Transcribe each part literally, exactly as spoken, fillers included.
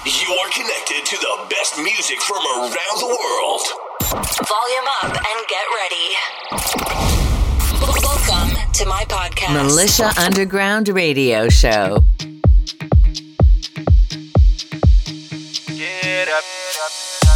You are connected to the best music from around the world. Volume up and get ready. Welcome to my podcast, Militia Underground Radio Show. Get up, up.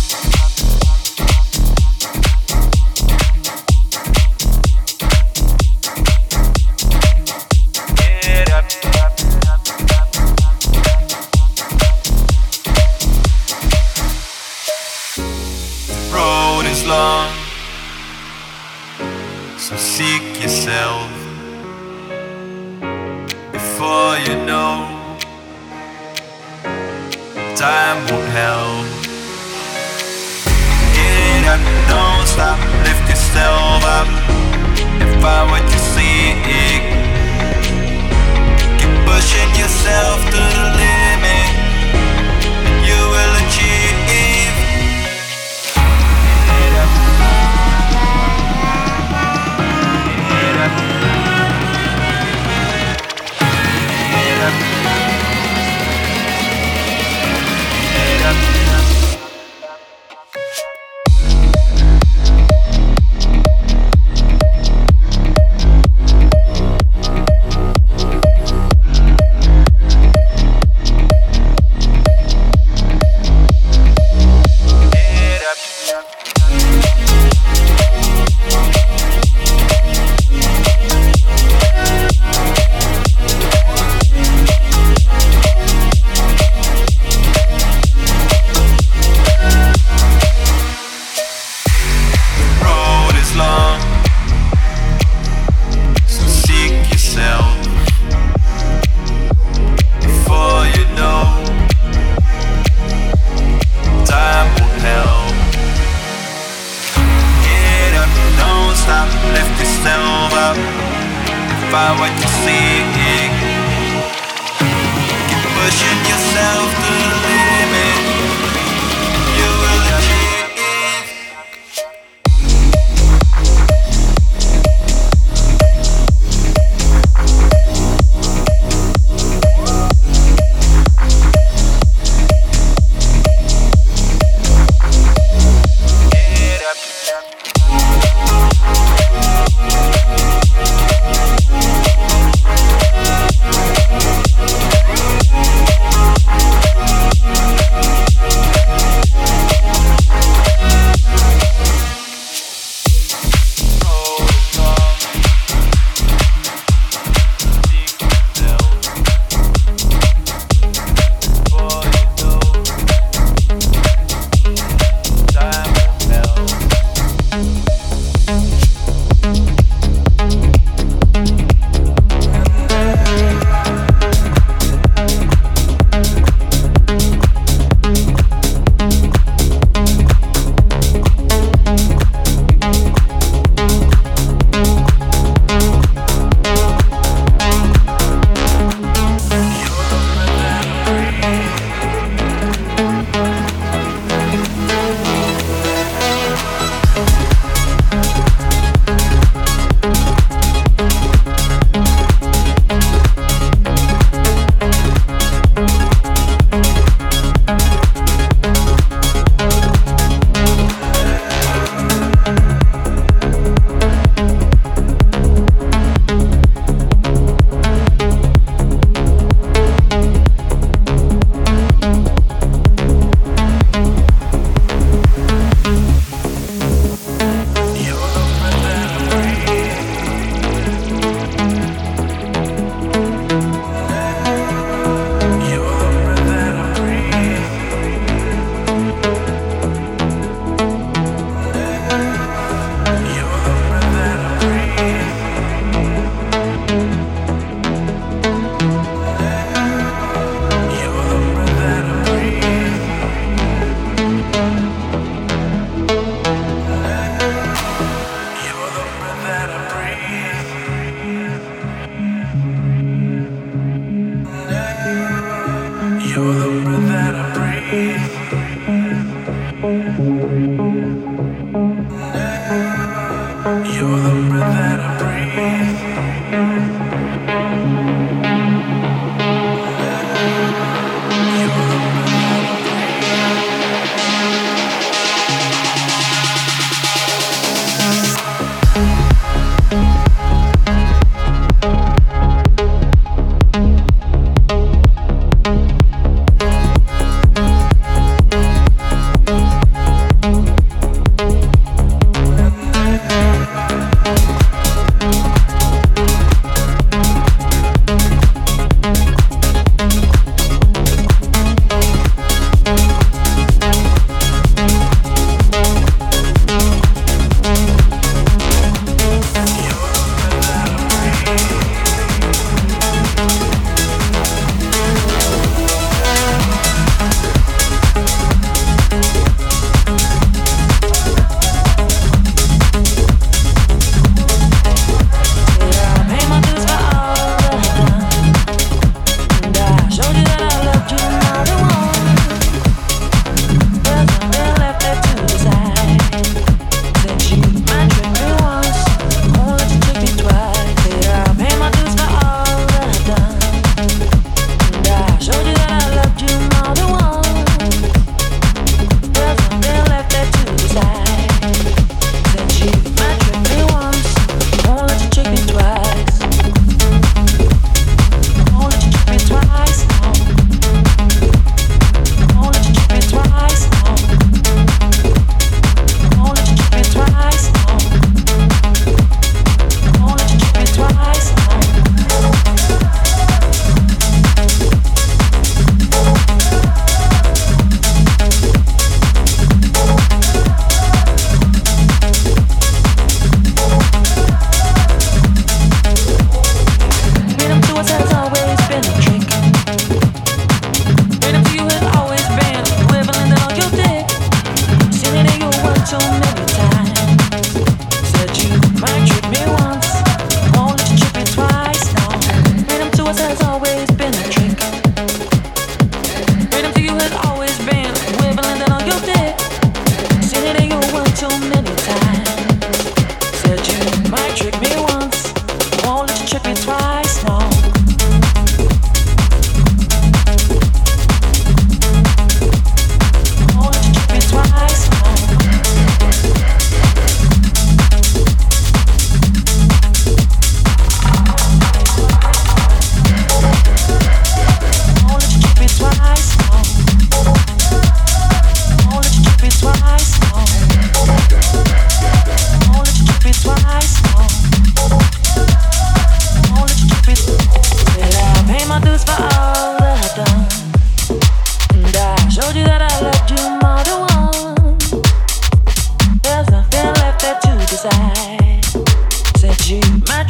Long, so seek yourself before you know time won't help. Get up, don't stop, lift yourself up and find what you seek. Keep pushing yourself to the limit and you will achieve.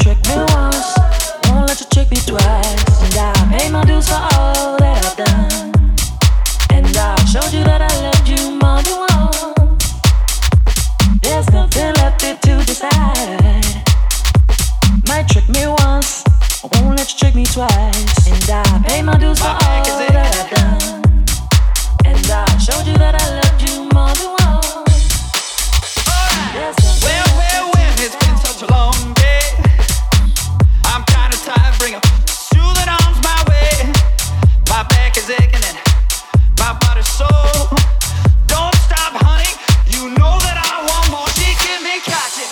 trick me once, won't let you trick me twice. And I pay my dues for all that I've done. And I showed you that I loved you more than once. There's nothing left here to decide. Might trick me once, I won't let you trick me twice. And I pay my dues for all that I've done. And I showed you that I loved you more than once. Well, well, well, it's been such a long day. I'm kinda tired, bring a soothing arms my way. My back is aching and my body's sore. Don't stop, honey, you know that I want more. She give me catching.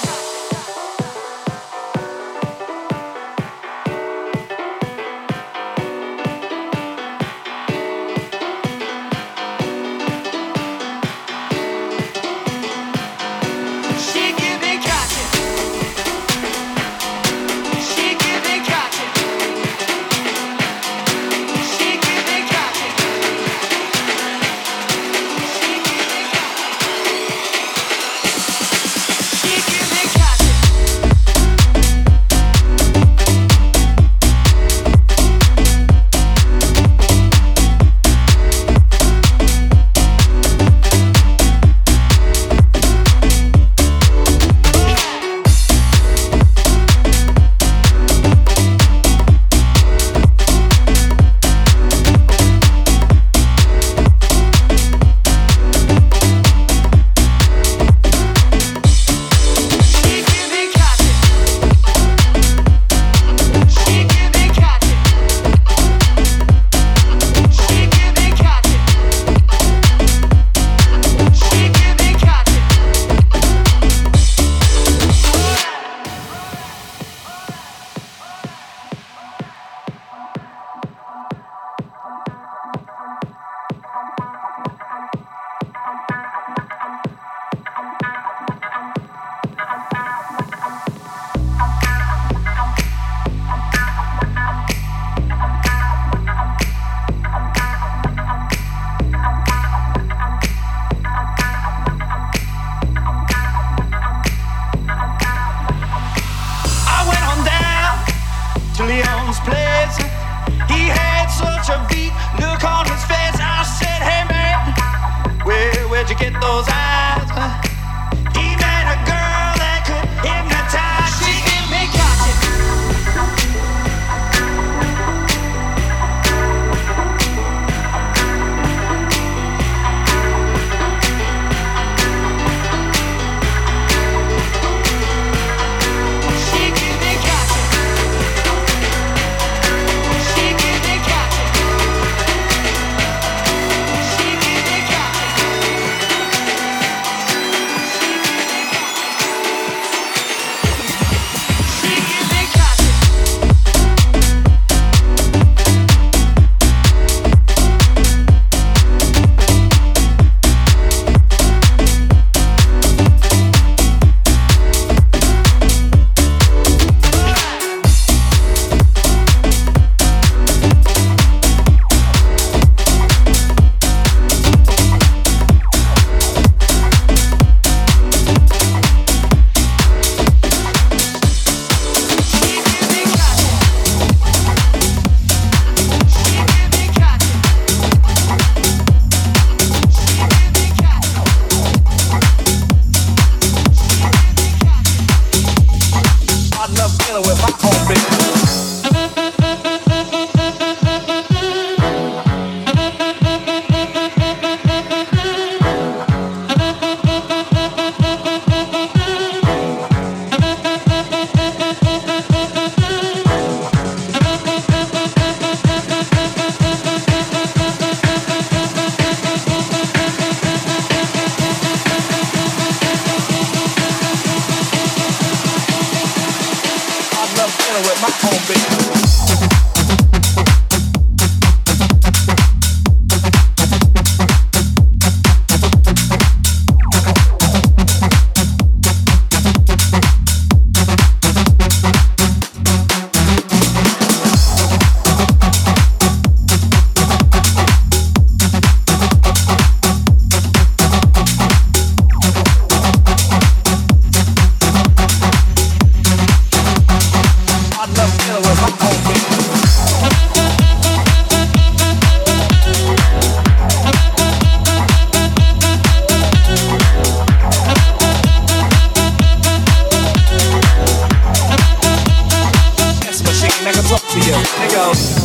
you. Here goes.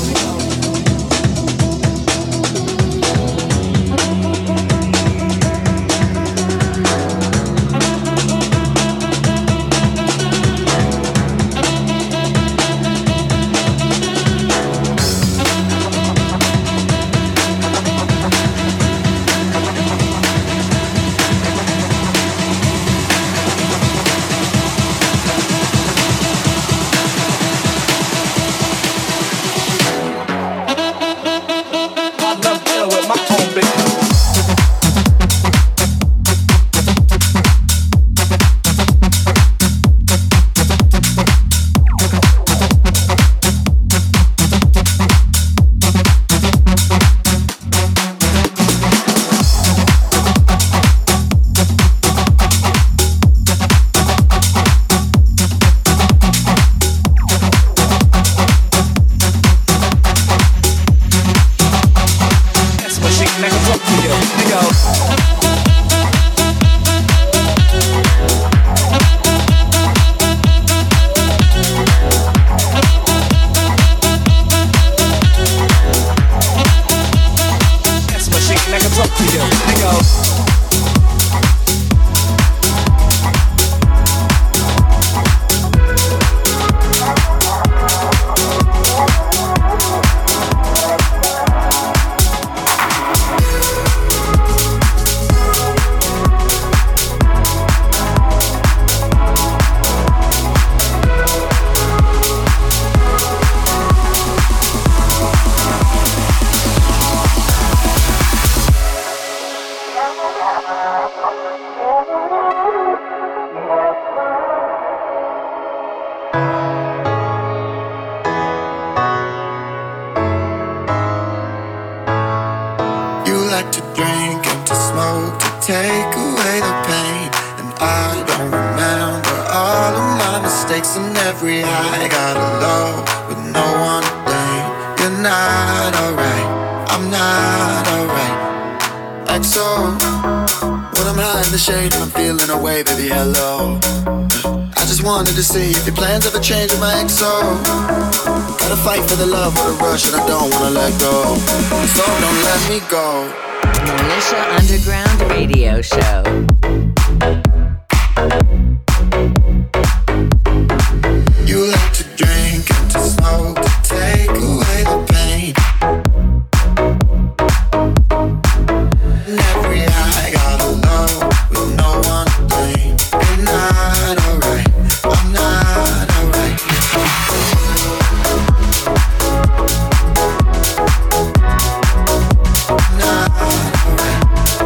To see if your plans ever change with my X O. Gotta fight for the love or the rush, and I don't wanna let go. So don't let me go. Militia Underground Radio Show. You like to drink and to smoke to take away the pain. And every eye got a love with no one to blame. You're not alright. I'm not alright. I'm not alright.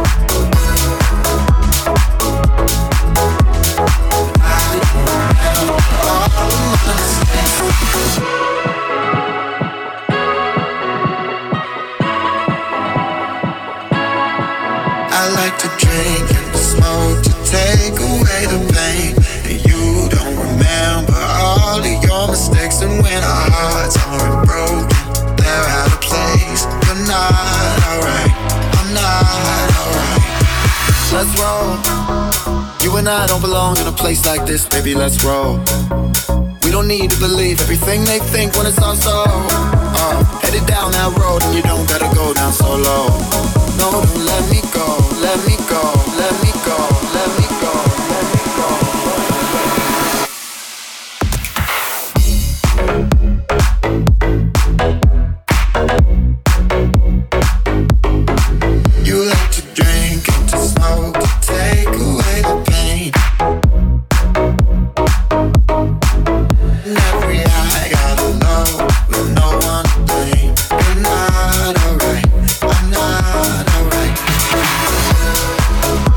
I like to drink and to smoke to take away the pain. And you don't remember all of your mistakes. And when our hearts aren't broken, they're out of place. You're not alright. I'm not alright. Let's roll. You and I don't belong in a place like this, baby, let's roll. We don't need to believe everything they think when it's all so. Uh, headed down that road and you don't gotta go down so low. No, don't let me go, let me go, let me go, let me go, let me go. You like to drink and to smoke to take away the pain. And every eye got a low with no one to blame. You're not alright, I'm not alright.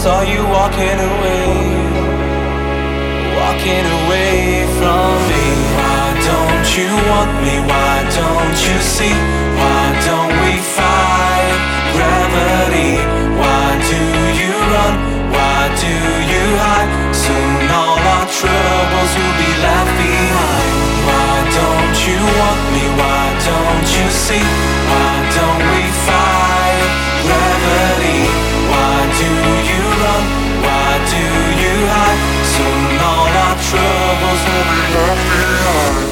saw you walking away, walking away from me. Why don't you want me? Why don't you see? Why don't we fight gravity? Why do you run? Why do you hide? Soon all our troubles will be left behind. Why don't you want me? Why don't you see? Why don't we fight gravity? Why do you run? Why do you hide? Soon all our troubles will be left behind.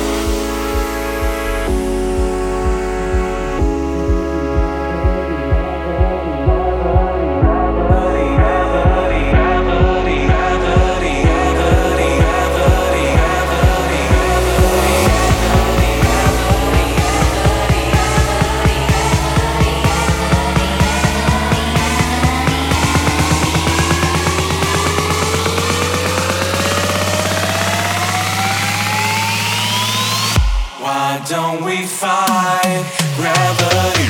Don't we fight gravity?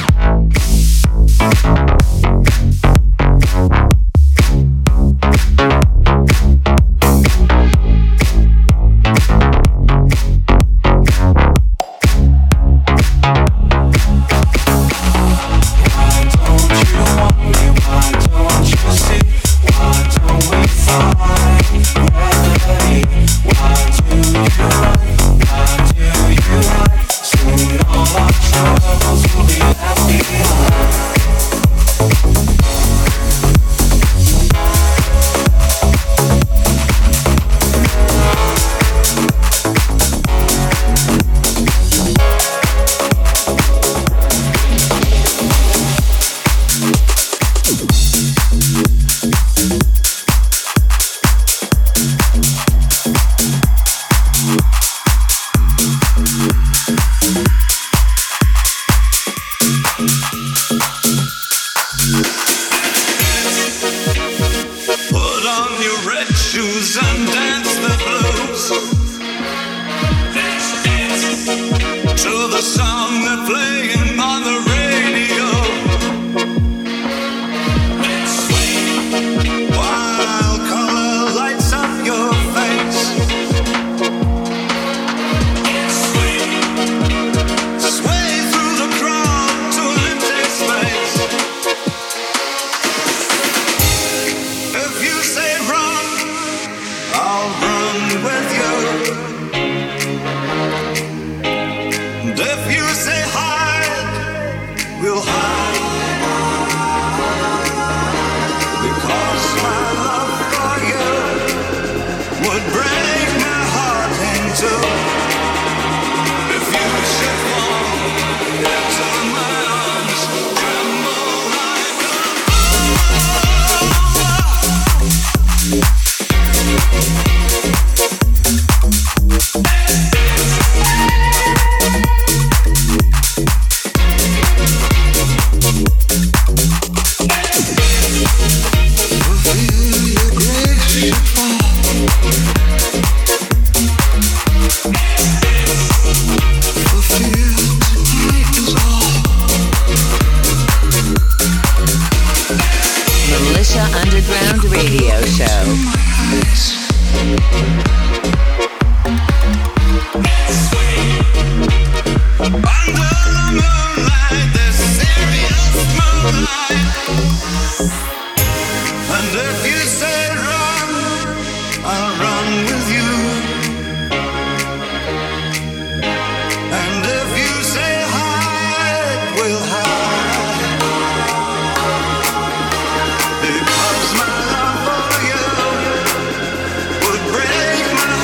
Because my love for you would break my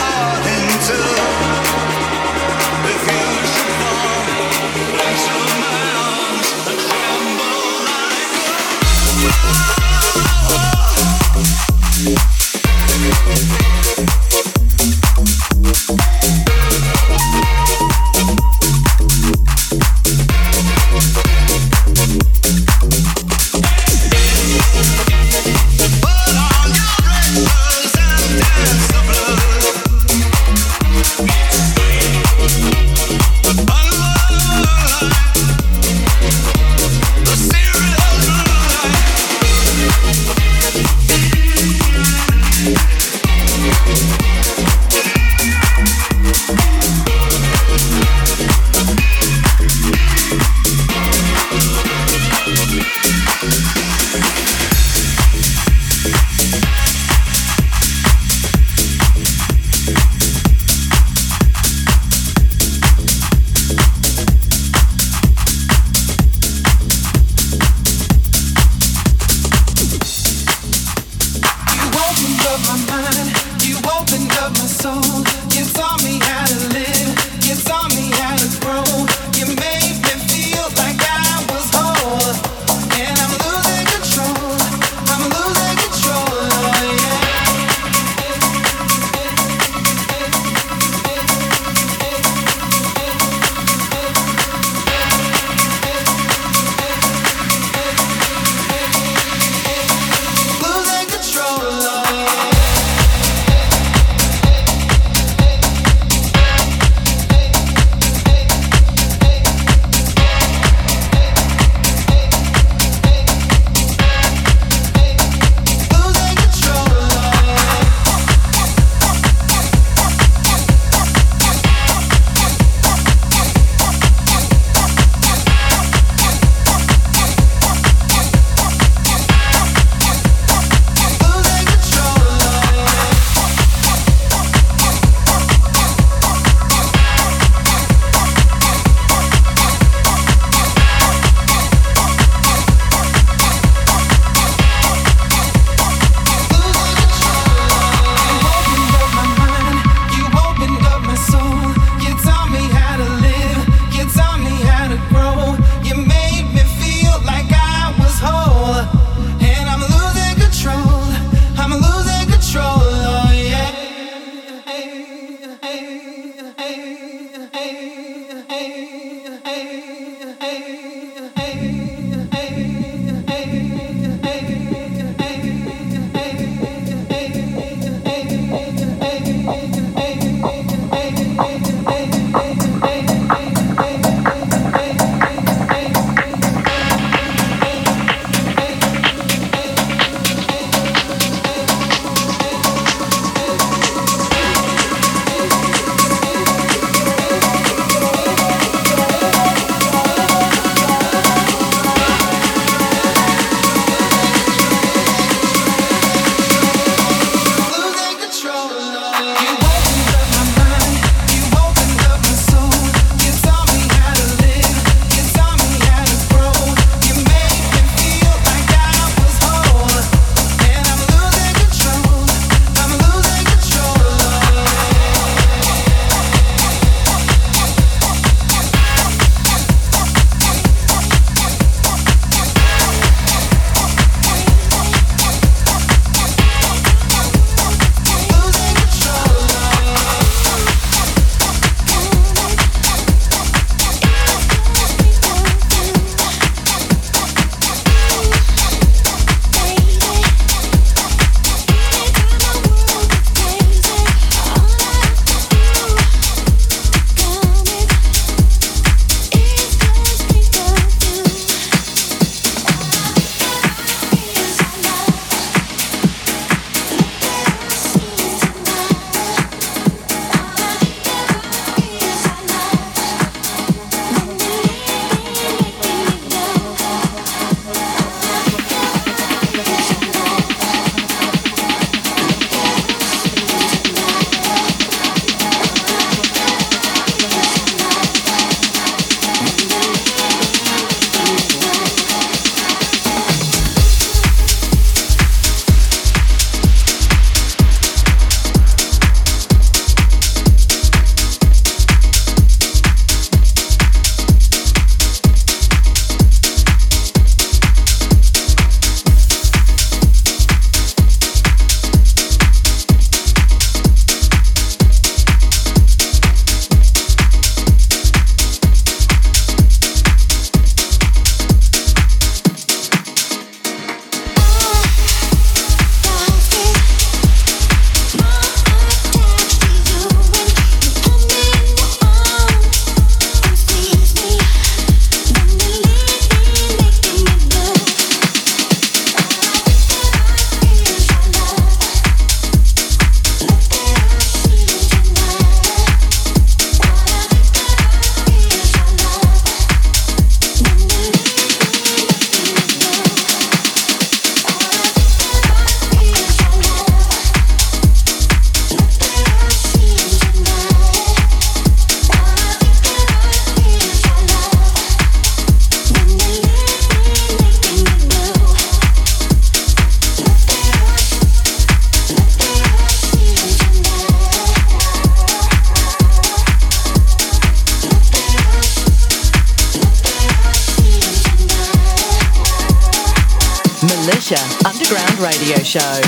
Militia Underground Radio Show.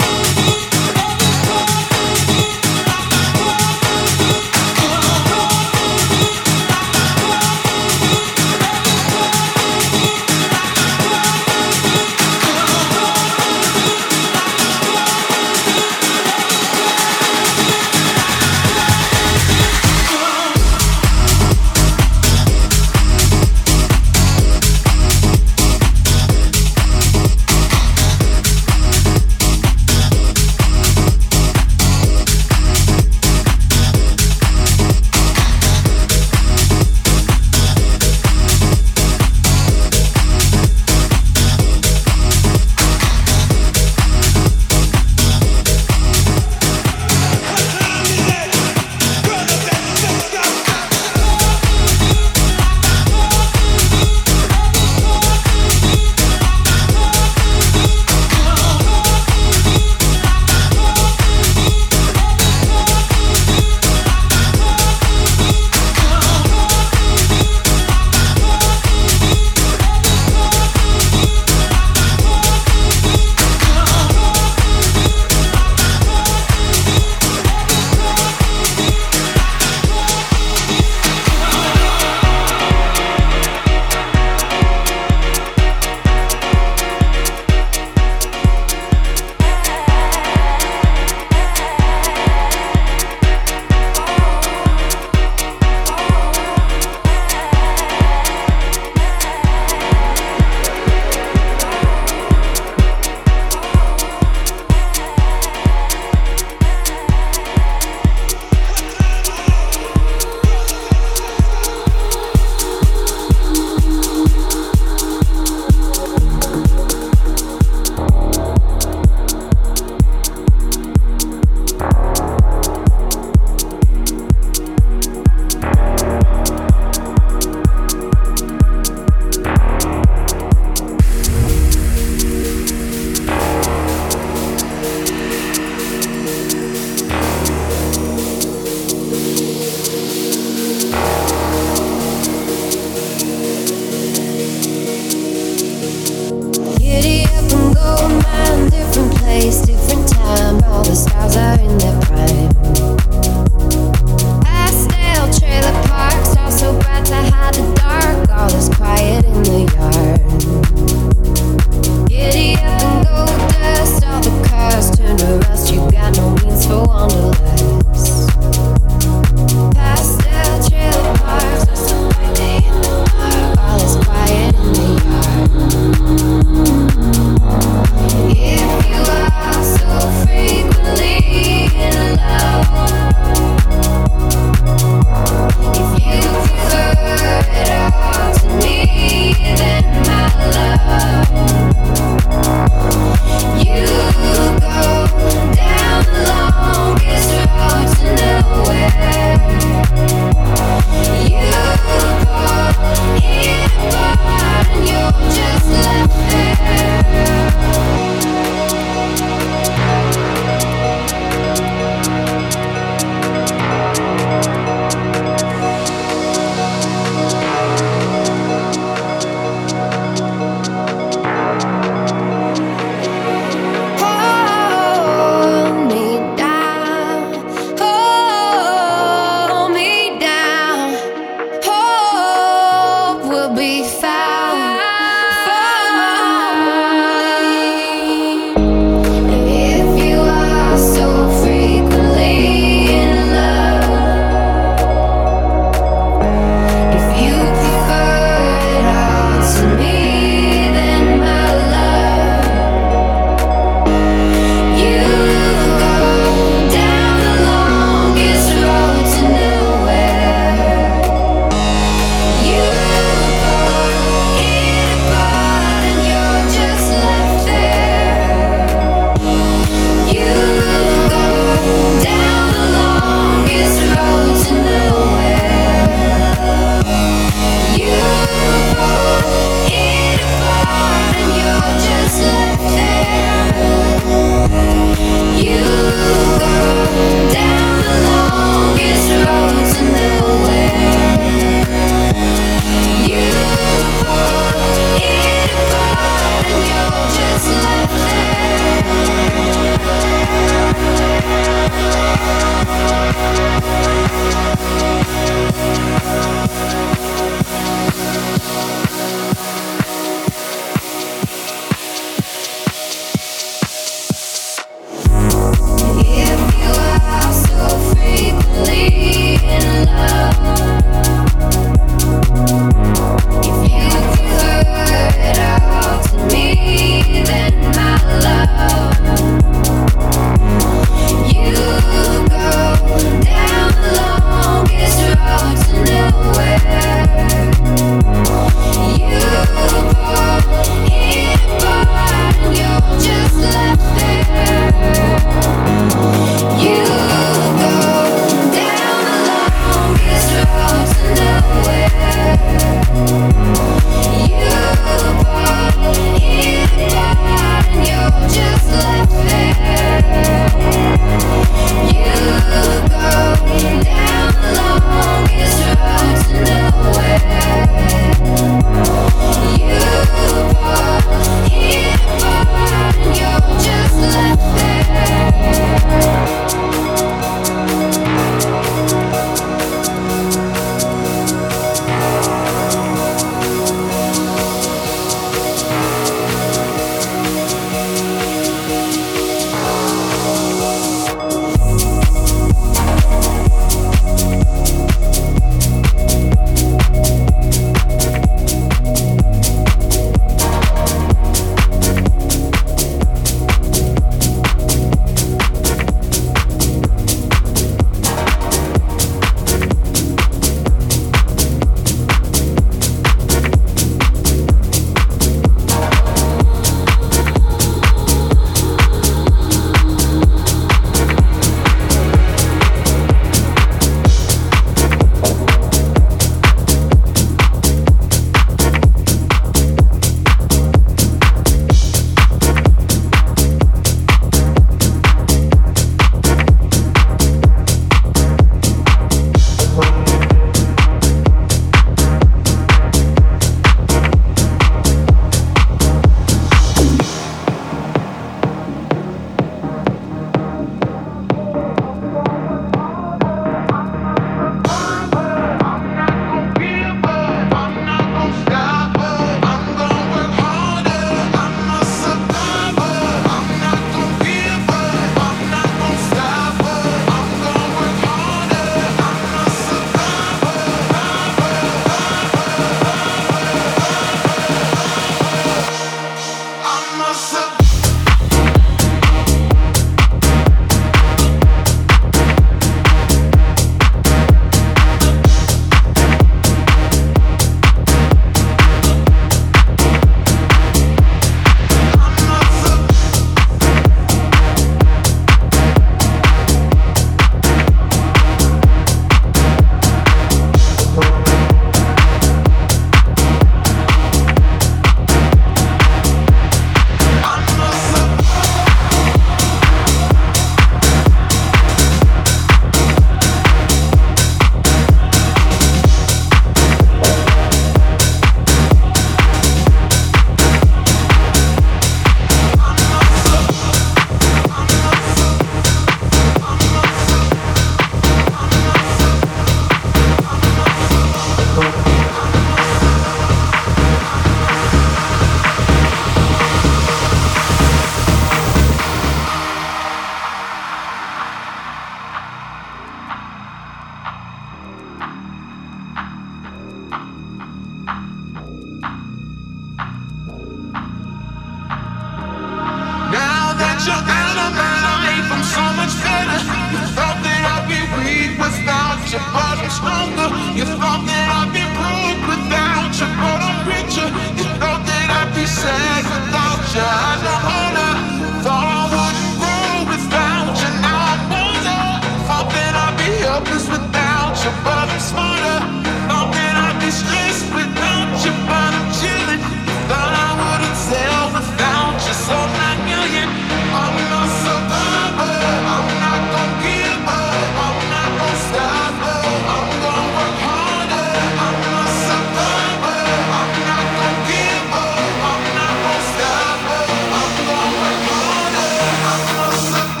so much better. You thought that I'd be weak without you, but I'm stronger. You thought that I'd be broke without you, but I'm richer. You thought that I'd be sad without you, I don't wanna. Thought I wouldn't grow without you, now I'm older. Thought that I'd be helpless without you, but I'm smarter. Thought that I'd be stressed without you, but I'm chilling. Thought I wouldn't sell without you, so nine million. I'm a survivor, I'm not gonna give up, I'm not gonna stop, I'm gonna work harder. I'm a survivor, I'm not gonna give up, I'm not gonna stop, I'm gonna work harder. I'm a survivor.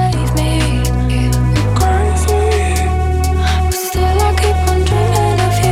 Still I keep on dreaming of you.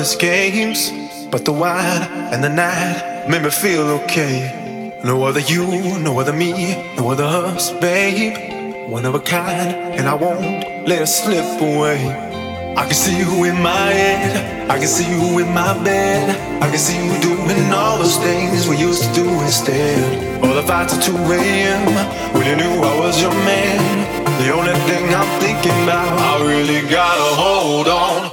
lover's games, but the wine and the night made me feel okay. No other you, no other me, no other us, babe. One of a kind, and I won't let it slip away. I can see you in my head, I can see you in my bed, I can see you doing all those things we used to do instead. All the fights at two a.m. when you knew I was your man. The only thing I'm thinking about, I really gotta hold on.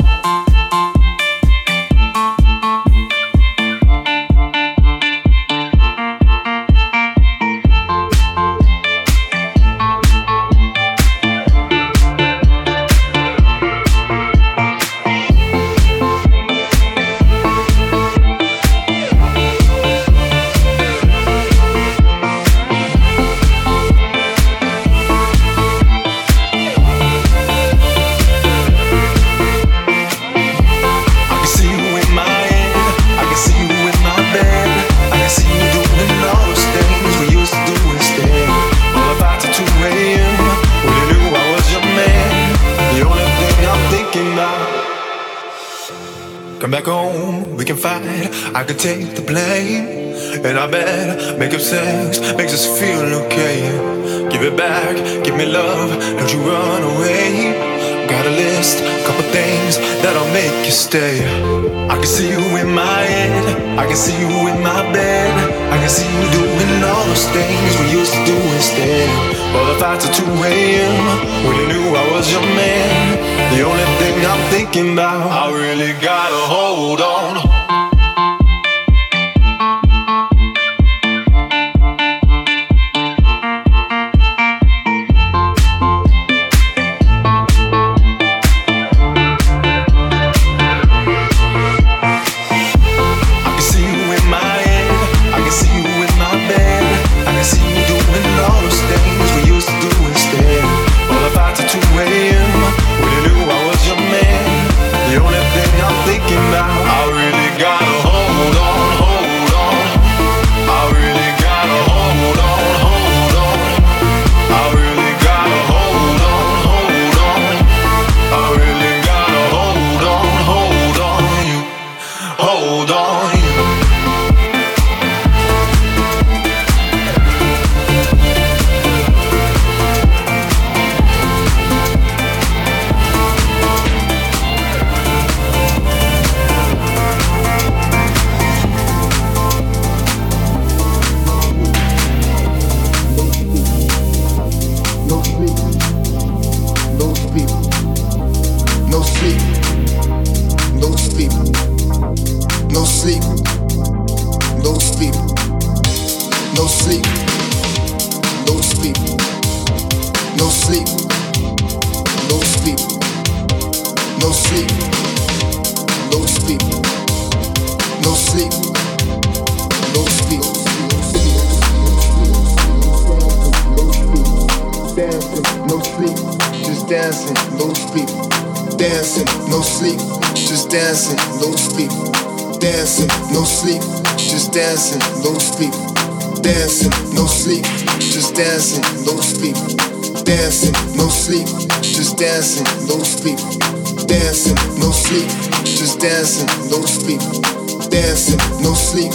Come back home, we can fight, I can take the blame. And I bet making sex makes us feel okay. Give it back, give me love, don't you run away. Got a list, couple things that'll make you stay. I can see you in my head, I can see you in my bed, I can see you doing all those things we used to do instead. All the fights at two a.m. when you knew I was your man. The only thing I'm thinking about, I really gotta hold on.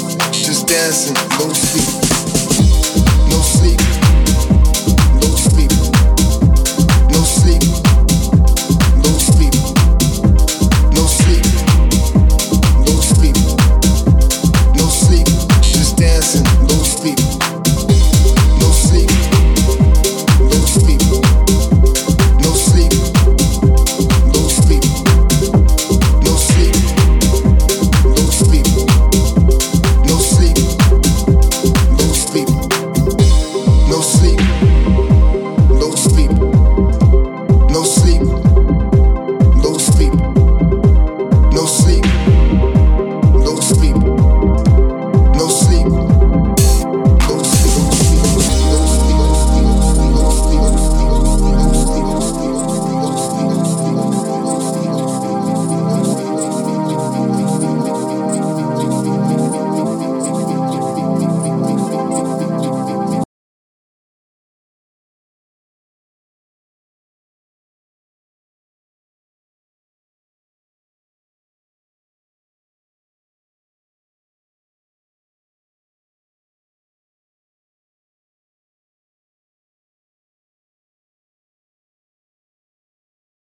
No sleep, no sleep,